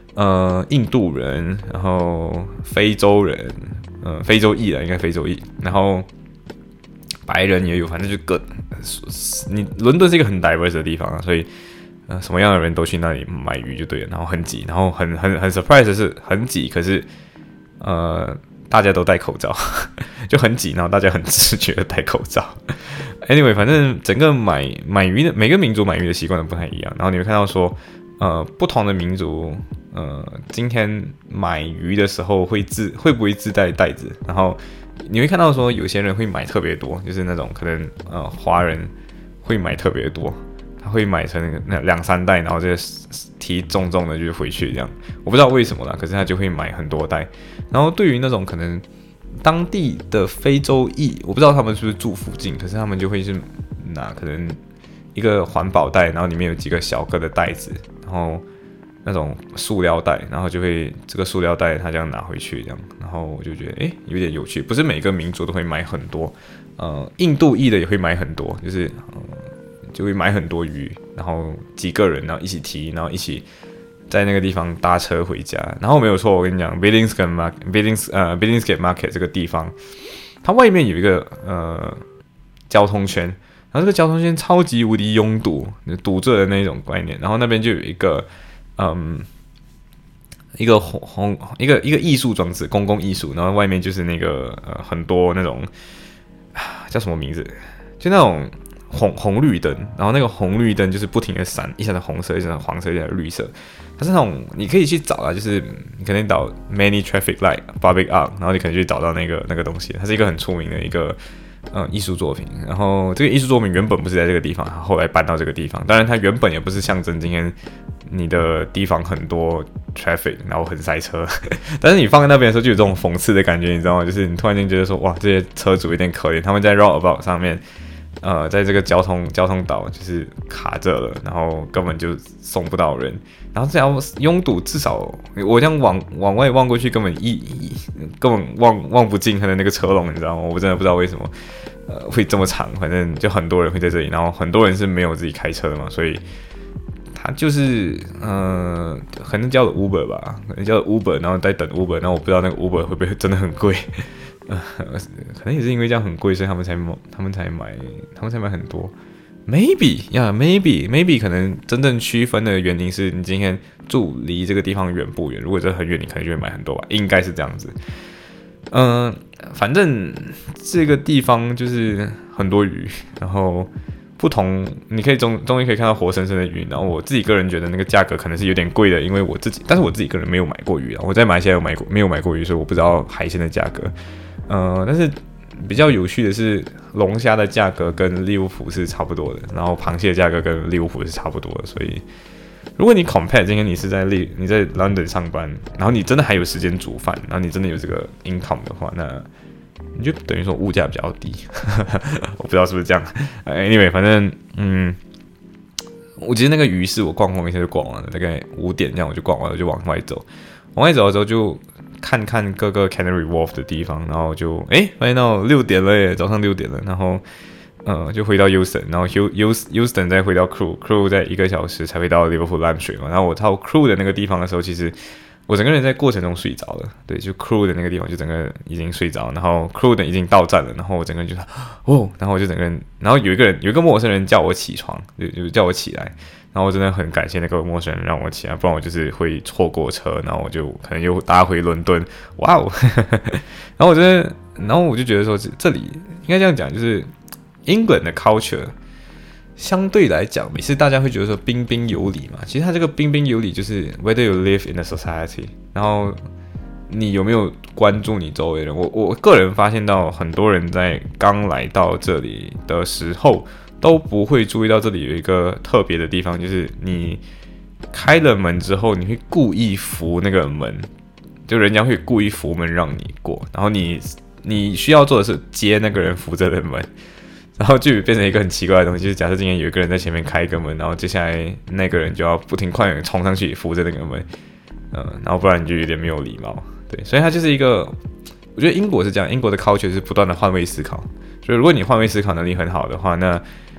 呃印度人，然后非洲人，呃非洲裔了，应该非洲裔，然后白人也有，反正就各你伦敦是一个很 diverse 的地方啊，所以呃什么样的人都去那里买鱼就对了，然后很挤，然后很很很 surprise 的是很挤，可是呃大家都戴口罩，就很挤，然后大家很自觉的戴口罩。Anyway， 反正整个买买鱼的每个民族买鱼的习惯都不太一样，然后你会看到说，呃，不同的民族，呃，今天买鱼的时候会自会不会自带袋子，然后你会看到说有些人会买特别多，就是那种可能呃华人会买特别多，他会买成那两三袋，然后就提重重的就回去这样，我不知道为什么啦，可是他就会买很多袋，然后对于那种可能当地的非洲裔，我不知道他们是不是住附近，可是他们就会是拿可能一个环保袋，然后里面有几个小个的袋子，然后那种塑料袋，然后就会这个塑料袋他这样拿回去这样，然后我就觉得诶有点有趣，不是每个民族都会买很多，呃，印度裔的也会买很多，就是、呃、就会买很多鱼，然后几个人然后一起提，然后一起在那个地方搭车回家，然后没有错，我跟你讲 ，Billingsgate Market，Billings 呃 Billingsgate Market 这个地方，它外面有一个呃交通圈，然后这个交通圈超级无敌拥堵，堵着的那种概念，然后那边就有一个嗯一个红红一个一个艺术装置，公共艺术，然后外面就是那个呃很多那种叫什么名字，就那种。红红绿灯，然后那个红绿灯就是不停的闪，一下子红色，一下子黄色，一下子绿色。它是那种你可以去找啊，就是你可能找 many traffic light public art， 然后你可能去找到那个那个东西。它是一个很出名的一个呃艺术作品。然后这个艺术作品原本不是在这个地方，后来搬到这个地方。当然它原本也不是象征今天你的地方很多 traffic， 然后很塞车。但是你放在那边的时候就有这种讽刺的感觉，你知道吗？就是你突然间觉得说，哇，这些车主有点可怜，他们在 roundabout 上面。呃，在这个交通交通岛就是卡着了，然后根本就送不到人，然后这样拥堵，至少我这样往往外望过去，根本一一根本望望不进他的那个车龙，你知道吗？我真的不知道为什么，呃，会这么长，反正就很多人会在这里，然后很多人是没有自己开车的嘛，所以他就是呃，可能叫 Uber 吧，可能叫 Uber， 然后在等 Uber， 然后我不知道那个 Uber 会不会真的很贵。呃，可能也是因为这样很贵，所以他们才他们才买，他们才买很多。Maybe 呀、yeah, ，Maybe Maybe 可能真正区分的原因是你今天住离这个地方远不远？如果这很远，你可能就会买很多吧，应该是这样子。嗯、呃，反正这个地方就是很多鱼，然后不同，你可以终终于可以看到活生生的鱼。然后我自己个人觉得那个价格可能是有点贵的，因为我自己，但是我自己个人没有买过鱼啊。我在马来西亚有买过，没有买过鱼，所以我不知道海鲜的价格。呃，但是比较有趣的是，龙虾的价格跟利物浦是差不多的，然后螃蟹的价格跟利物浦是差不多的，所以如果你 compare 今天你是在利你在 London 上班，然后你真的还有时间煮饭，然后你真的有这个 income 的话，那你就等于说物价比较低，我不知道是不是这样。Anyway， 反正嗯，我其实那个鱼市我逛逛一下就逛完了，大概五点这样我就逛完了，就往外走，往外走的时候就。看看各个 Canary Wharf 的地方，然后就哎发现到六点了耶，早上六点了，然后呃就回到 Euston， 然后 Euston 再回到 Crewe，Crewe 在一个小时才会到 Liverpool 淡水嘛，然后我到 Crewe 的那个地方的时候，其实我整个人在过程中睡着了，对，就 Crewe 的那个地方就整个已经睡着，然后 Crewe 的已经到站了，然后我整个人就哦，然后我就整个人，然后有一个人有一个陌生人叫我起床，就就叫我起来。然后我真的很感谢那个陌生人让我起来，不然我就是会错过车，然后我就可能又搭回伦敦。哇哦！然后我觉得，然后我就觉得说，这里应该这样讲，就是 England 的 culture 相对来讲，每次大家会觉得说彬彬有礼嘛，其实它这个彬彬有礼就是 whether you live in a society， 然后你有没有关注你周围人。我我个人发现到很多人在刚来到这里的时候。都不会注意到这里有一个特别的地方，就是你开了门之后，你会故意扶那个门，就人家会故意扶门让你过，然后你你需要做的是接那个人扶着的门，然后就变成一个很奇怪的东西，就是假设今天有一个人在前面开一个门，然后接下来那个人就要不停快点冲上去扶着那个门，嗯、呃，然后不然你就有点没有礼貌，对，所以它就是一个，我觉得英国是这样，英国的 culture 是不断的换位思考，所以如果你换位思考能力很好的话，那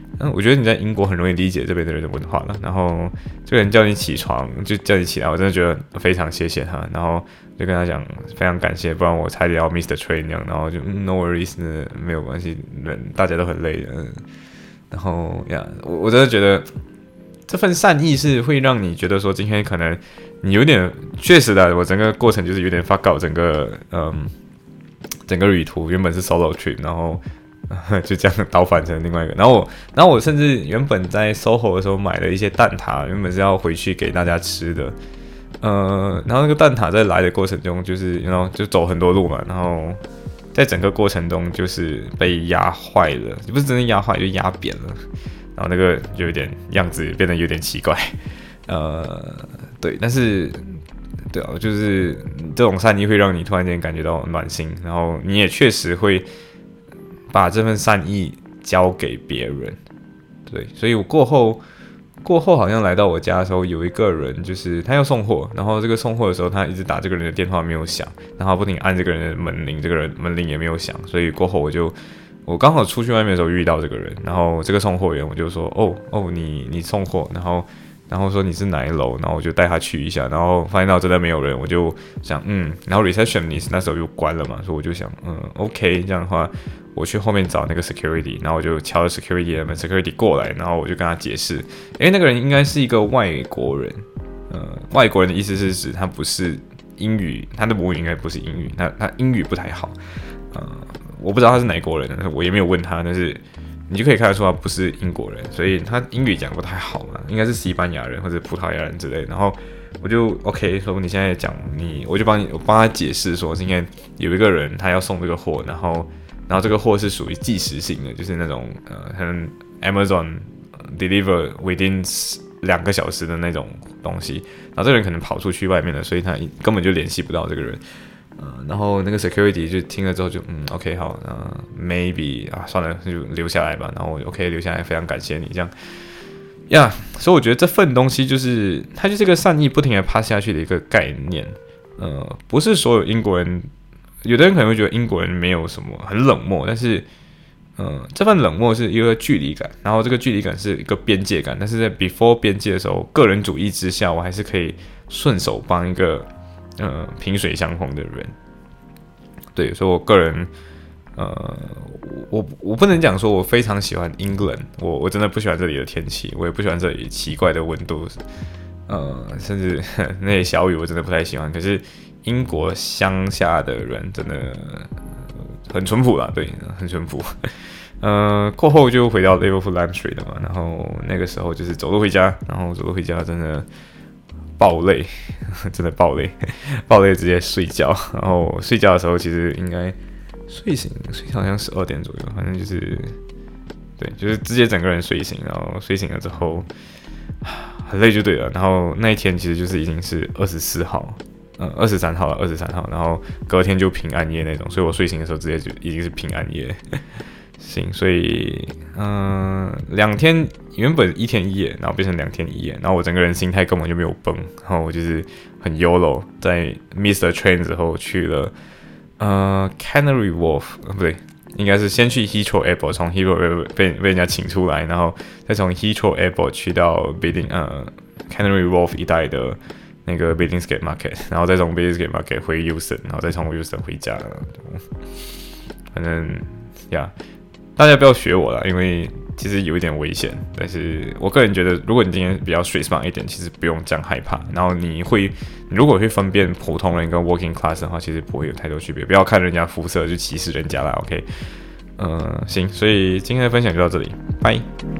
嗯，我觉得你在英国很容易理解这边的人的文化了。然后这个人叫你起床，就叫你起来，我真的觉得非常谢谢他。然后就跟他讲非常感谢，不然我差点要 miss the train 那样。然后就、嗯、no worries， 没有关系，人大家都很累的。嗯、然后呀，我我真的觉得这份善意是会让你觉得说今天可能你有点确实的，我整个过程就是有点 fuck out， 整个嗯整个旅途原本是 solo trip， 然后。就这样倒反成另外一个，然后我，然后我甚至原本在 S O H O 的时候买了一些蛋挞，原本是要回去给大家吃的，呃，然后那个蛋挞在来的过程中，就是然后就走很多路嘛，然后在整个过程中就是被压坏了，不是真的压坏，就压扁了，然后那个就有点样子变得有点奇怪，呃，对，但是。对啊，就是这种善意会让你突然间感觉到暖心，然后你也确实会把这份善意交给别人。对，所以我过后过后好像来到我家的时候，有一个人就是他要送货，然后这个送货的时候他一直打这个人的电话没有响，然后不停按这个人的门铃，这个人门铃也没有响，所以过后我就我刚好出去外面的时候遇到这个人，然后这个送货员我就说哦哦你你送货，然后。然后说你是哪一楼，然后我就带他去一下，然后发现到真的没有人，我就想嗯，然后 receptionist 那时候又关了嘛，所以我就想嗯 OK， 这样的话我去后面找那个 security， 然后我就敲了 security 的门 ，security 过来，然后我就跟他解释，诶，那个人应该是一个外国人，呃，外国人的意思是指他不是英语，他的母语应该不是英语，他他英语不太好，呃，我不知道他是哪国人，我也没有问他，但是。你就可以看得出他不是英国人，所以他英语讲不太好嘛，应该是西班牙人或者葡萄牙人之类的。然后我就 OK 说你现在讲你，我就帮你我帮他解释说，今天有一个人他要送这个货，然后然后这个货是属于即时性的，就是那种呃可能 Amazon deliver within 两个小时的那种东西。然后这个人可能跑出去外面了，所以他根本就联系不到这个人。呃，然后那个 security 就听了之后就嗯 OK 好，呃 maybe 啊算了就留下来吧，然后 OK 留下来，非常感谢你这样，呀、yeah, 所以我觉得这份东西就是它就是个善意不停的pass下去的一个概念，呃，不是所有英国人，有的人可能会觉得英国人没有什么很冷漠，但是呃这份冷漠是一个距离感，然后这个距离感是一个边界感，但是在 before 边界的时候，个人主义之下，我还是可以顺手帮一个。呃，萍水相逢的人，对，所以我个人，呃，我我不能讲说我非常喜欢 England， 我我真的不喜欢这里的天气，我也不喜欢这里奇怪的温度，呃，甚至那些小雨我真的不太喜欢。可是英国乡下的人真的很淳朴啦，对，很淳朴。呃，过后就回到 Liverpool Lime Street 了嘛，然后那个时候就是走路回家，然后走路回家真的。爆累，真的爆累，爆累直接睡觉。然后睡觉的时候，其实应该睡醒，睡好像十二点左右，反正就是，对，就是直接整个人睡醒。然后睡醒了之后，很累就对了。然后那一天其实就是已经是二十四号，呃，二十三号了，二十三号。然后隔天就平安夜那种，所以我睡醒的时候直接就已经是平安夜。行，所以嗯、呃，两天原本一天一夜，然后变成两天一夜，然后我整个人心态根本就没有崩，然后我就是很 Y O L O， 在 miss the train 之后去了呃 Canary Wharf， 呃不对，应该是先去 Heathrow Airport， 从 Heathrow Airport 被被人家请出来，然后再从 Heathrow Airport 去到 Biding 呃 Canary Wharf 一带的那个 Billingsgate Market， 然后再从 Billingsgate Market 回 Euston， 然后再从 Euston 回家，反正呀。Yeah, 大家不要学我啦，因为其实有一点危险。但是我个人觉得，如果你今天比较 street smart 一点，其实不用这样害怕。然后你会，你如果会分辨普通人跟 working class 的话，其实不会有太多区别。不要看人家肤色就歧视人家啦 ，OK？ 呃，行，所以今天的分享就到这里，拜。